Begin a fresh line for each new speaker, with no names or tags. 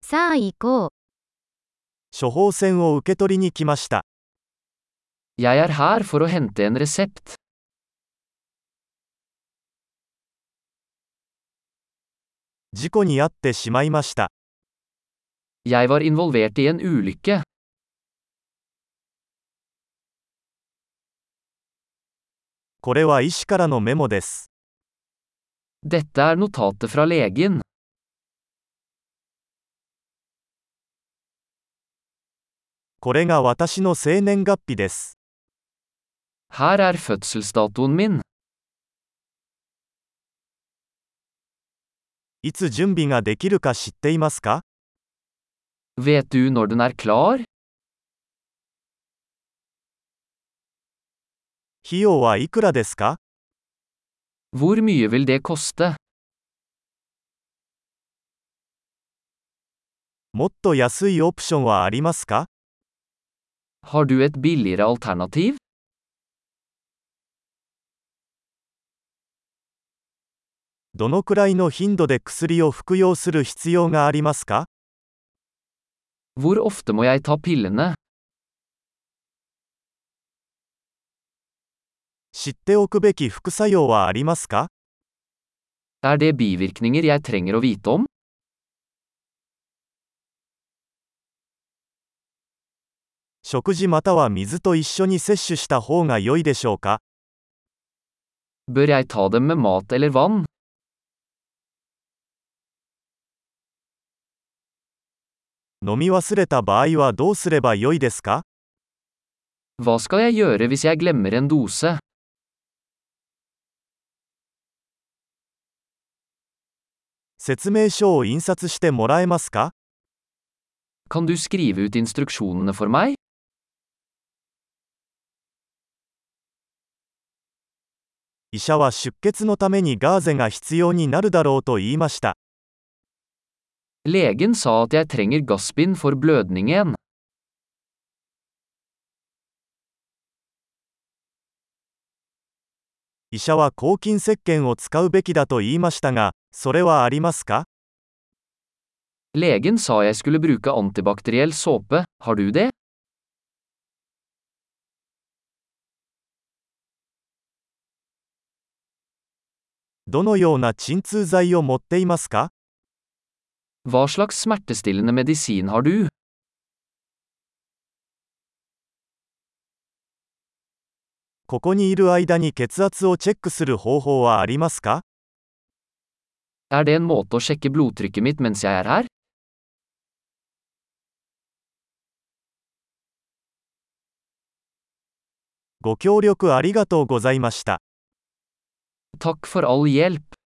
さあ行こう。
処方箋を受け取りに来ました。
Jeg er her for å hente en resept.
事故に遭ってしまいました。
Jeg var involvert i en ulykke.
これは医師からのメモです。
Dette er notatet fra legen.
これが私の生年月日です。
Her er fødselsdatoen min.
いつ準備ができるか知っていますか？
Vet du når den er klar?
費用はいくらですか？
Hvor mye vil det koste?
もっと安いオプションはありますか？
Har du et billigere alternativ?
どのくらいの頻度で薬を服用する必要がありますか？
Hvor ofte må jeg ta pillene?
知っておくべき副作用はありますか？
Er det bivirkninger jeg trenger å vite om?
食事または水と一緒に摂取した方が良いでしょうか？
Bør jeg ta dem med mat eller vann?
飲み忘れた場合はどうすれば良いですか？
Hva skal jeg gjøre hvis jeg glemmer en dose?
説明書を印刷してもらえますか？
Kan du skrive ut instruksjonene for meg?
医者は出血のためにガーゼが必要になるだろうと言いました。
Legen sa at jeg trenger gassbind for blødningen.
医者は抗菌石鹸を使うべきだと言いましたが、それはありますか？
Legen sa jeg skulle bruke antibakteriell såpe, har du det?
どのような鎮痛剤を持っていますか？
Hva slags smertestillende medisin har du?
ここにいる間に血圧をチェックする方法はありますか？
Er det en måte å sjekke blodtrykket mitt mens jeg er her?
ご協力ありがとうございました。
Takk for all hjelp.